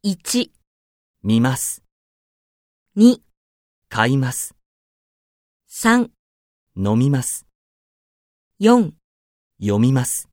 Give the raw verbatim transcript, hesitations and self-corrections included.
いち、 見ます。 に、 買います。 さん、 飲みます。 よん、 読みます。